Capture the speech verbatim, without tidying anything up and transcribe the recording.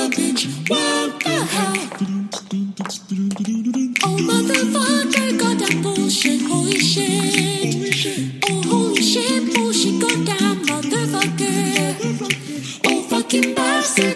the bitch, what the hell? Oh motherfucker, goddamn bullshit, holy shit. Oh holy shit, bullshit, goddamn motherfucker. Oh fucking bastard.